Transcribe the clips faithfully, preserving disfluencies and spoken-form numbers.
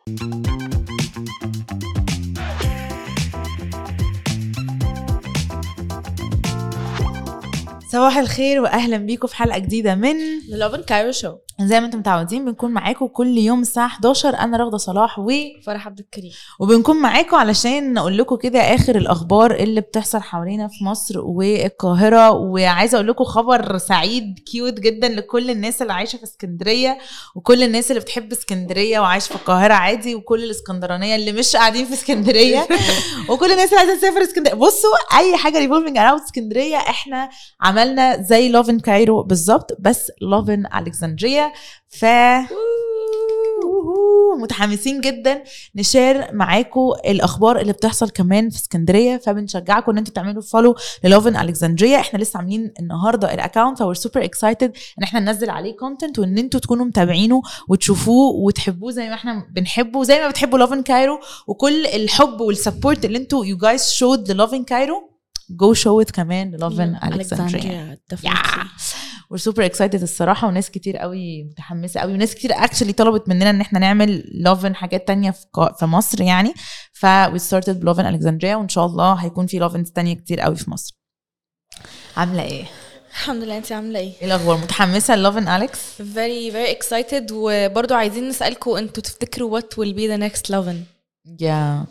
صباح الخير واهلا بيكم في حلقه جديده من لوفن كايرو شو. زي ما انتم متعودين بنكون معاكم كل يوم الساعه حداشر. انا رغده صلاح وفرح عبد الكريم، وبنكون معاكم علشان نقول لكم كده اخر الاخبار اللي بتحصل حوالينا في مصر والقاهره. وعايزه اقول لكم خبر سعيد كيوت جدا لكل الناس اللي عايشه في اسكندريه، وكل الناس اللي بتحب اسكندريه وعايشه في القاهره عادي، وكل الاسكندرانيه اللي مش قاعدين في اسكندريه وكل الناس اللي عايزه تسافر اسكندريه. بصوا اي حاجه ريفولفينج اراوند اسكندريه احنا عملنا زي لوفن كايرو بالظبط، بس لوفن الكسندريا. ف متحمسين جدا نشير معاكم الاخبار اللي بتحصل كمان في اسكندريه، فبنشجعكم ان انتوا تعملوا فولو للوفن الكسندريا. احنا لسه عاملين النهارده الاكونت اور سوبر اكسايتد ان احنا ننزل عليه كونتنت، وان انتوا تكونوا متابعينه وتشوفوه وتحبوه زي ما احنا بنحبه، زي ما بتحبوا لوفن كايرو. وكل الحب والسبورت اللي انتوا يو جايز شود للوفن كايرو go show it كمان لوفن الكسندريا. we're super excited الصراحة، وناس كتير قوي متحمسة قوي، وناس كتير actually طلبت مننا ان احنا نعمل لوفن حاجات تانية في مصر يعني. ف we started بلوفن الكسندريا، وان شاء الله هيكون في لوفنز تانية كتير قوي في مصر. عاملة ايه؟ الحمد لله، انتي عاملة ايه؟ ايه الاخبار؟ متحمسة لوفن أليكس؟ very very excited. وبرضو عايزين نسألكم انتوا تفتكروا what will be the next لوفن؟ yeah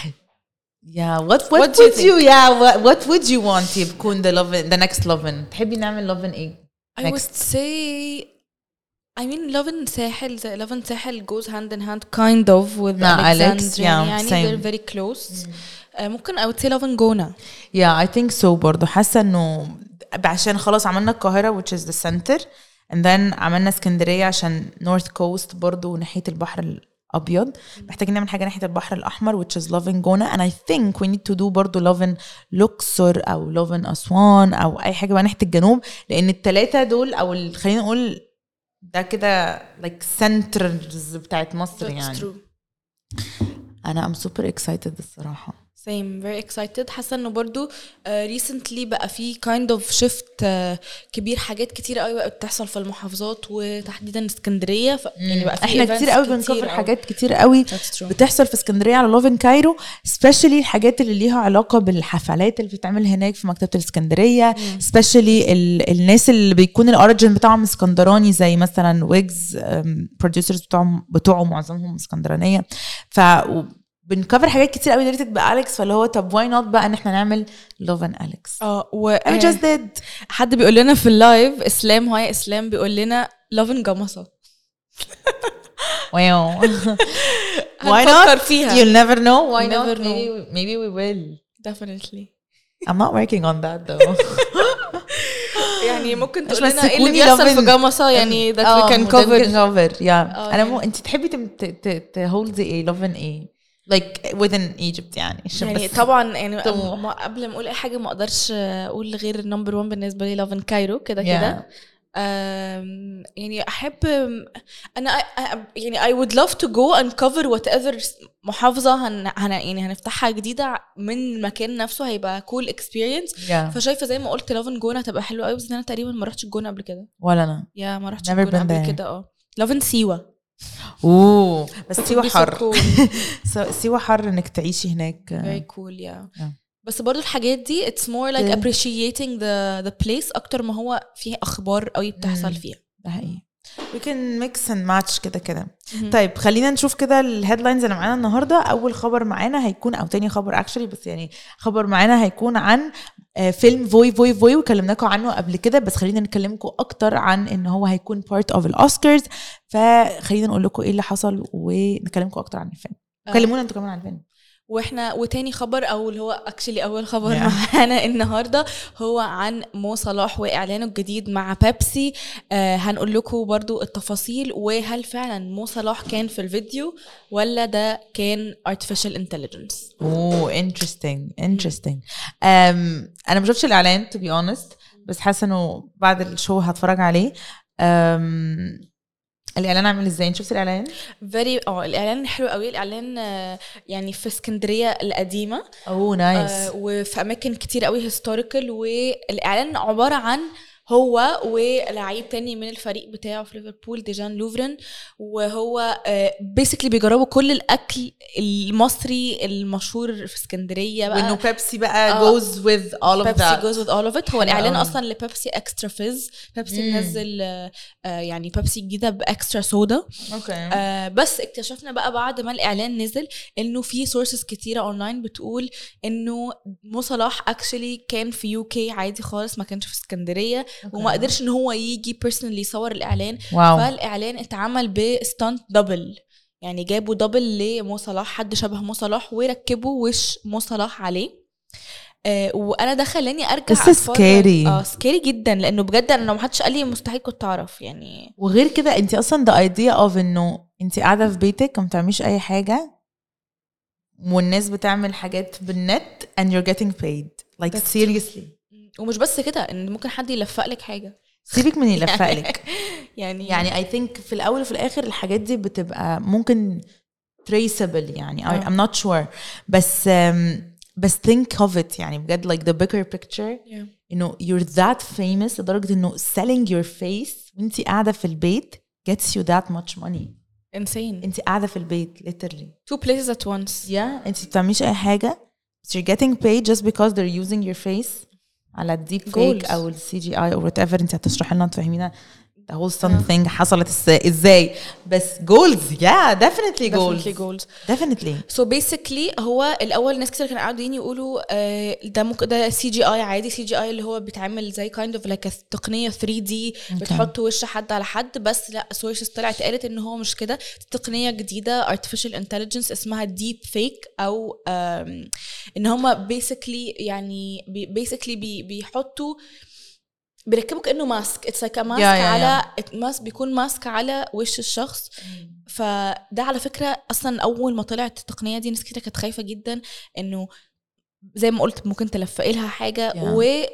yeah what what, what would you, you yeah what, what would you want يكون the لوفن the next لوفن؟ تحبي نعمل لوفن ايه؟ I Next. would say I mean لوفن ساحل زي لوفن ساحل goes hand in hand kind of with nah, Alexandria Alex, yeah, يعني same. they're very close. mm. uh, ممكن I would say لوفن جونة. yeah I think so برضو. حاسة انه عشان خلاص عملنا القاهرة which is the center and then عملنا اسكندرية عشان north coast برضو ناحية البحر أبيض. محتاجين نعمل حاجة ناحية البحر الأحمر which is لوفن جونة and I think we need to do برضو لوفن لوكسور أو لوفن أسوان أو أي حاجة بقى ناحية الجنوب، لأن التلاتة دول أو خلينا نقول ده كده like centers بتاعت مصر. That's يعني true. أنا I'm super excited الصراحة. same very excited. حاسه انه برضو uh, recently بقى في kind of shift uh, كبير، حاجات كتير قوي بقى بتحصل في المحافظات وتحديدا اسكندريه. ف... يعني بقى في احنا كتير قوي بنكفر حاجات كتير قوي بتحصل في اسكندريه على لوفن كايرو، especially الحاجات اللي ليها علاقه بالحفلات اللي بتتعمل هناك في مكتبه الاسكندريه، mm. especially ال... الناس اللي بيكون الاوريجين بتاعهم اسكندراني زي مثلا ويجز producers بتوعهم بتوعه معظمهم اسكندرانيه. ف بنكفر حاجات كتير قوي ريليتد بأليكس، فاللي هو طب واي نوت بقى ان احنا نعمل لوفن أليكس. اه و I just did. حد بيقول لنا في اللايف اسلام هاي اسلام بيقول لنا لوفن جمصة. واو why not فيها you'll never know why never not know. maybe maybe we will definitely. I'm not working on that though. يعني ممكن تقول لنا ايه اللي بيحصل في جمصة يعني that we can cover cover yeah. انا مو انت تحبي ت hold ايه لوفن ايه like within Egypt يعني. يعني طبعا يعني قبل ما اقول اي حاجه ما اقدرش اقول غير النمبر واحد بالنسبه لي لوفن كايرو كده كده. يعني احب انا يعني I would love to go and cover whatever محافظه هن, هن يعني هنفتحها جديده من المكان نفسه، هيبقى cool experience. yeah. فشايفه زي ما قلت لوفن جونه هتبقى حلوه قوي، بس انا تقريبا ما رحتش الجونه قبل كده. ولا انا يا ما رحتش الجونه قبل كده. اه لوفن سيوه. اوه بس سيوة حر. سيوة حر انك تعيشي هناك. very cool yeah. yeah. بس برضو الحاجات دي it's more like yeah. appreciating the the place اكتر ما هو فيه اخبار قوي بتحصل mm. فيها. ده حقيقي. we can mix and match كده كده. mm-hmm. طيب خلينا نشوف كده الهيدلاينز اللي معانا النهارده. اول خبر معانا هيكون او تاني خبر actually بس يعني خبر معانا هيكون عن فيلم فوي فوي فوي وكلمناكم عنه قبل كده، بس خلينا نكلمكم اكتر عن ان هو هيكون part of الأوسكارز. فخلينا نقول لكم ايه اللي حصل ونكلمكم اكتر عن الفيلم. كلمونا انتوا كمان عن الفيلم. واحنا وتاني خبر او اللي هو اكشلي اول خبر yeah. معانا النهارده هو عن مو صلاح واعلانه الجديد مع بيبسي. آه هنقول لكم برضو التفاصيل، وهل فعلا مو صلاح كان في الفيديو ولا ده كان artificial intelligence. اوه interesting interesting. um, انا ما شفتش الاعلان to be honest، بس حاسه انه بعد الشو هتفرج عليه. um, الاعلان عامل ازاي؟ شفت الاعلان؟ فيري اه الاعلان حلو قوي. الاعلان يعني في اسكندريه القديمه. اوه نايس. آه وفي اماكن كتير قوي هيستوريكال. والاعلان عباره عن هو ولاعيب تاني من الفريق بتاعه في ليفربول ديجان لوفرن، وهو بيسكلي بيجربوا كل الاكل المصري المشهور في اسكندريه بقى، وانه بيبسي بقى uh, goes with all of بيبسي that goes with all of it. هو الاعلان اصلا لبيبسي اكسترا فيز، بيبسي نزل آه يعني بيبسي جديده باكسترا سودا. اوكي آه بس اكتشفنا بقى بعد ما الاعلان نزل انه في سورسز كتيره اونلاين بتقول انه مو صلاح اكشلي كان في يو كي عادي خالص، ما كانش في اسكندريه okay. وما قدرش ان هو يجي بيرسونالي يصور الاعلان. واو. فالاعلان اتعمل بستانت دبل، يعني جابوا دبل لمو صلاح، حد شبه مو صلاح وركبوا وش مو صلاح عليه. آه وانا ده خلاني ارجع سكيري اه سكيري جدا، لانه بجد انا لو ما حدش قال لي مستحيل كنت اعرف يعني. وغير كده انت اصلا the idea of انه انت قاعده في بيتك وما بتعمليش اي حاجه والناس بتعمل حاجات بالنت and you're getting paid like That's seriously. ومش بس كده، ان ممكن حد يلفق لك حاجه، سيبك من يلفق لك يعني يعني I think في الاول وفي الاخر الحاجات دي بتبقى ممكن traceable يعني I, I'm not sure بس um, بس think of it يعني بجد like the bigger picture yeah. انه you're that famous لدرجه انه selling your face وانتي قاعده في البيت gets you that much money. insane. انتي قاعده في البيت literally two places at once. yeah انتي بتعمليش اي حاجه but you're getting paid just because they're using your face على الديب فيك او السي جي اي او whatever. انت هتشرحي لنا تفهمينا the whole something yeah. حصلت ازاي بس goals yeah definitely goals definitely goals definitely. so basically هو الاول ناس كتير كانوا قاعدين يقولوا آه ده ممكن ده سي جي اي عادي، سي جي اي اللي هو بيتعمل زي kind of like تقنيه ثري دي okay. بتحط وش حد على حد، بس لا سورسز طلعت قالت ان هو مش كده، تقنيه جديده artificial intelligence اسمها deep fake او ان هم basically يعني basically بي بيحطوا بيركبوا كأنه ماسك اتس لايك ماسك على ماسك بيكون ماسك على وش الشخص. فده على فكرة أصلا أول ما طلعت التقنية دي ناس كتير كانت خايفة جدا إنه زي ما قلت ممكن تلفق لها حاجة yeah.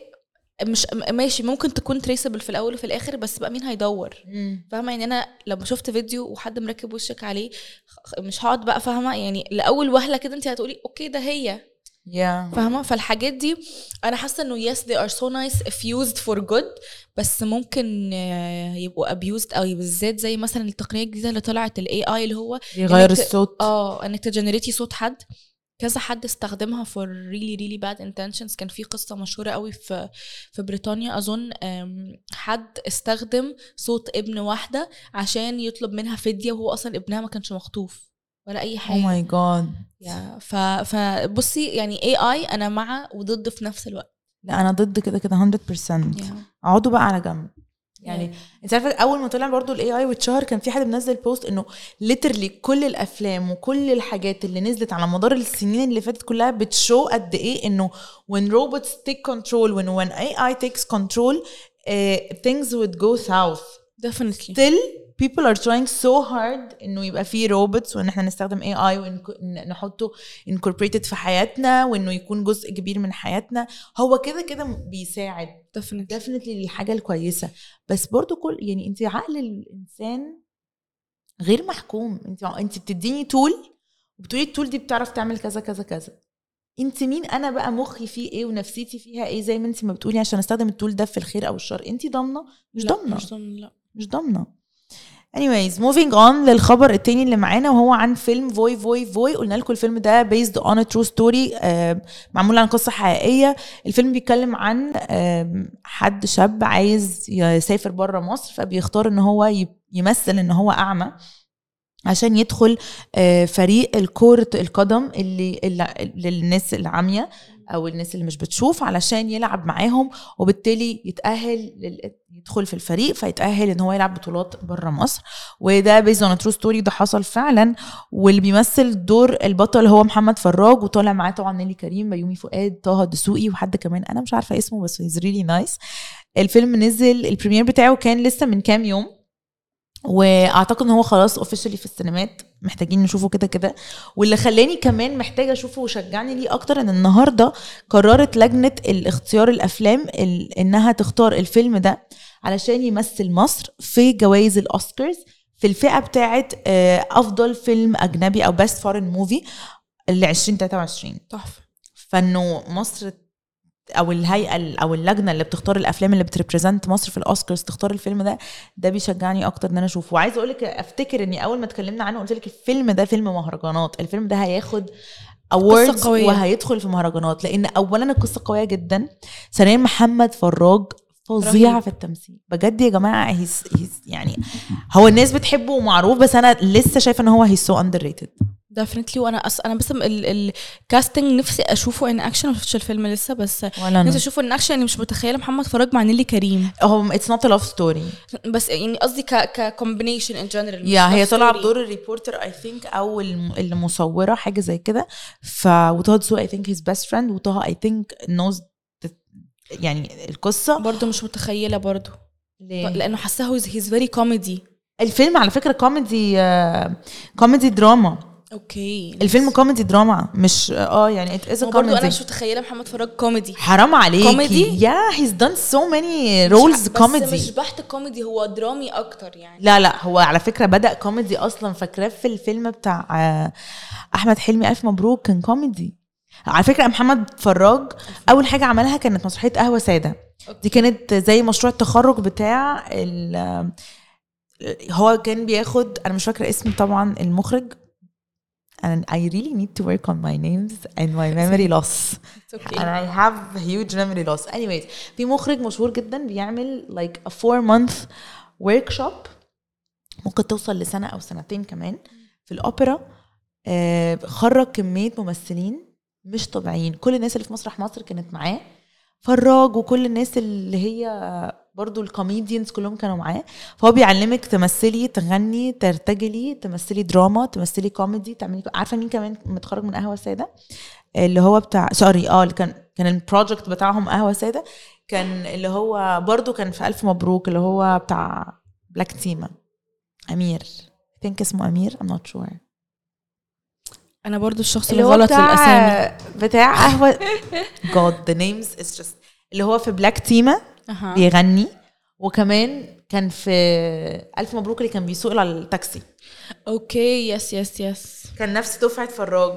ومش ماشي ممكن تكون تريسبل في الأول وفي الآخر، بس بقى مين هيدور mm. فاهمة يعني أنا لما شفت فيديو وحد مركب وشك عليه مش هقعد بقى فاهمة يعني لأول وهلة كده أنت هتقولي أوكي ده هي yeah. فاهمة. فالحاجات دي أنا حاسة إنه yes they are so nice if used for good، بس ممكن يبقوا abused أو بالذات زي مثلا التقنية الجديدة اللي طلعت ال إيه آي اللي هو يغير الصوت اه انك تجنريتي صوت حد. كذا حد استخدمها for really really bad intentions. كان في قصة مشهورة قوي في في بريطانيا أظن حد استخدم صوت ابن واحدة عشان يطلب منها فدية وهو أصلا ابنها ما كانش مخطوف ولا اي حاجه. oh my god يا ف فبصي يعني إيه آي انا مع وضد في نفس الوقت. لا انا ضد كده كده مية بالمية. اقعدوا بقى على جنب يعني yeah. انت عارفه اول ما طلع برضو الاي اي واتشهر كان في حد منزل بوست انه literally كل الافلام وكل الحاجات اللي نزلت على مدار السنين اللي فاتت كلها بتشو قد ايه انه when robots take control when when إيه آي takes control uh, things would go south definitely. still people are trying so hard انه يبقى فيه روبوتس وان احنا نستخدم إيه آي ونحطه incorporated في حياتنا وانه يكون جزء كبير من حياتنا. هو كده كده بيساعد definitely definitely للحاجة الكويسة، بس برضو كل يعني انت عقل الانسان غير محكوم. انت انت بتديني تول وبتقولي التول دي بتعرف تعمل كذا كذا كذا، انت مين انا بقى مخي فيه ايه ونفسيتي فيها ايه زي ما انت ما بتقولي عشان استخدم التول ده في الخير او الشر؟ انت ضامنه؟ مش ضامنه مش ضامنه لا مش ضامنه. anyways moving on للخبر التاني اللي معانا وهو عن فيلم فوي فوي فوي. قلنا لكم الفيلم ده based on a true story آه معمول عن قصة حقيقية. الفيلم بيتكلم عن آه حد شاب عايز يسافر برا مصر فبيختار ان هو يمثل ان هو اعمى عشان يدخل آه فريق الكرة القدم اللي, اللي للناس العامية او الناس اللي مش بتشوف علشان يلعب معاهم وبالتالي يتأهل يدخل في الفريق فيتأهل ان هو يلعب بطولات برا مصر. وده بيزون ا ترو ستوري ده حصل فعلا. واللي بيمثل دور البطل هو محمد فراج وطالع معاه طبعا نيلي كريم بيومي فؤاد طه دسوقي وحد كمان انا مش عارفة اسمه بس he's really nice. الفيلم نزل البريمير بتاعه كان لسه من كام يوم واعتقد ان هو خلاص اوفيشلي في السينمات محتاجين نشوفه كده كده. واللي خلاني كمان محتاجه اشوفه وشجعني ليه اكتر ان النهارده قررت لجنه الاختيار الافلام انها تختار الفيلم ده علشان يمثل مصر في جوائز الاوسكارز في الفئه بتاعه افضل فيلم اجنبي او بيست فورين موفي ل عشرين تلاتة وعشرين. تحفه. فانه مصر او الهيئه او اللجنه اللي بتختار الافلام اللي بتريبريزنت مصر في الاوسكارز تختار الفيلم ده، ده بيشجعني اكتر ان انا اشوفه. وعايزه اقول لك افتكر اني اول ما اتكلمنا عنه قلت لك الفيلم ده فيلم مهرجانات، الفيلم ده هياخد awards وهيدخل في مهرجانات، لان اولا القصه قويه جدا، ثانيا محمد فراج فظيع في التمثيل بجد يا جماعه. هيس هيس يعني هو الناس بتحبه ومعروف، بس انا لسه شايفه ان هو هيس سو اندر ريتد ديفينتلي. وانا أص... انا بس الكاستنج نفسي اشوفه ان اكشن، ما شفتش الفيلم لسه، بس نفسي اشوفه ان اكشن. يعني مش متخيله محمد فراج مع نيلي كريم، هو اتس نوت ا لاف ستوري، بس يعني قصدي ك ككومبينيشن ان جنرال. يا هي طالعه بدور الريبورتر اي ثينك او المصوره حاجه زي كده. ف وطه دسوقي اي ثينك هيز بيست فريند، وطه اي ثينك نوز يعني القصه برضو مش متخيله برضو ليه؟ لانه حاسه هيز فيري كوميدي. الفيلم على فكره كوميدي، كوميدي دراما. اوكي الفيلم كوميدي دراما مش اه يعني ات از كوميدي. انا مش متخيله محمد فراج كوميدي. حرام عليكي كوميدي. يا هيز دان سو ماني رولز كوميدي، بس مش بحت كوميدي، هو درامي اكتر يعني. لا لا هو على فكره بدا كوميدي اصلا، فاكراه في الفيلم بتاع احمد حلمي الف مبروك كان كوميدي على فكره. محمد فراج اول حاجه عملها كانت مسرحيه قهوه ساده، دي كانت زي مشروع التخرج بتاع هو كان بياخد، انا مش فاكره اسم طبعا المخرج، and I really need to work on my names and my memory loss okay. and I have huge memory loss. anyways في مخرج مشهور جدا بيعمل like a four month workshop ممكن توصل لسنة أو سنتين كمان في الأوبرا. آه خرج كمية ممثلين مش طبيعيين، كل الناس اللي في مسرح مصر كانت معاه، فراج وكل الناس اللي هي برضو الكوميديانز كلهم كانوا معاه. فهو بيعلمك تمثلي، تغني، ترتجلي، تمثلي دراما، تمثلي كوميدي، تعملي. عارفه مين كمان متخرج من قهوه ساده؟ اللي هو بتاع سوري اه اللي كان كان البروجكت بتاعهم قهوه ساده، كان اللي هو برضو كان في الف مبروك اللي هو بتاع بلاك تيما، امير think اسمه امير I'm not sure. انا برضو الشخص اللي غلط الاسامي بتاع قهوه god the names is just اللي هو في بلاك تيما أه. بيغني، وكمان كان في الف مبروك اللي كان بيسوق على التاكسي. اوكي يس يس يس كان نفس دفعه فراج.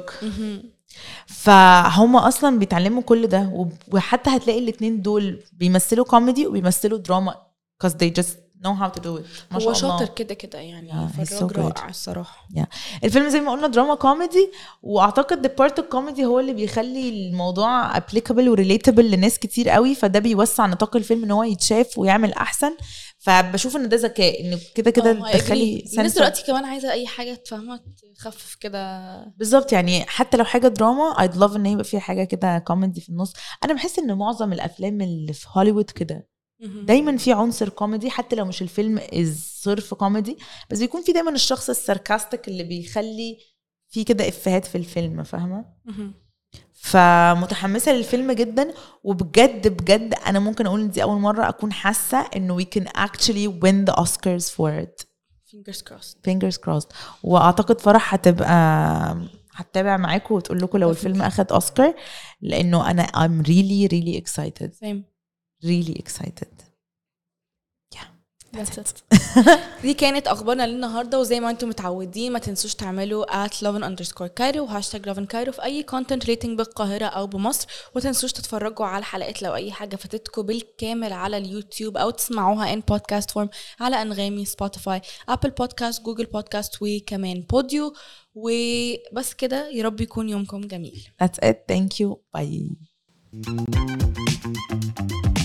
فهم اصلا بيتعلموا كل ده، وحتى هتلاقي الاثنين دول بيمثلوا كوميدي وبيمثلوا دراما because they just know how to do it. ما هو شاطر كده كده يعني. yeah, فراج so رائع الصراحه. yeah. الفيلم زي ما قلنا دراما كوميدي، واعتقد the part of comedy هو اللي بيخلي الموضوع applicable و relatable لناس كتير قوي، فده بيوسع نطاق الفيلم ان هو يتشاف ويعمل احسن. فبشوف ان ده ذكاء، ان كده كده تدخلي الناس دلوقتي كمان عايزه اي حاجه تفهمها تخفف كده بالظبط. يعني حتى لو حاجه دراما I'd love ان يبقى فيها حاجه كده كوميدي في النص. انا بحس ان معظم الافلام اللي في هوليوود كده دايما في عنصر كوميدي، حتى لو مش الفيلم از صرف كوميدي، بس بيكون في دايما الشخص الساركاستيك اللي بيخلي في كده افيهات في الفيلم، فاهمه؟ فمتحمسه للفيلم جدا، وبجد بجد انا ممكن اقول ان دي اول مره اكون حاسه انه we can actually win the Oscars for it. fingers crossed fingers crossed. واعتقد فرح هتبقى هتتابع معاكم وتقول لكم لو الفيلم اخد اوسكار، لانه انا I'm really really excited. same really excited. That's it. دي كانت اخبارنا للنهارده، وزي ما انتم متعودين ما تنسوش تعملوا at lovin underscore cairo وهاشتاج lovin cairo في اي content rating بالقاهره او بمصر، وتنسوش تتفرجوا على الحلقات لو اي حاجه فاتتكم بالكامل على اليوتيوب، او تسمعوها in podcast form على انغامي، سبوتيفاي، ابل بودكاست، جوجل بودكاست، وكمان بوديو. وبس كده، يا رب يكون يومكم جميل. That's it. Thank you. Bye.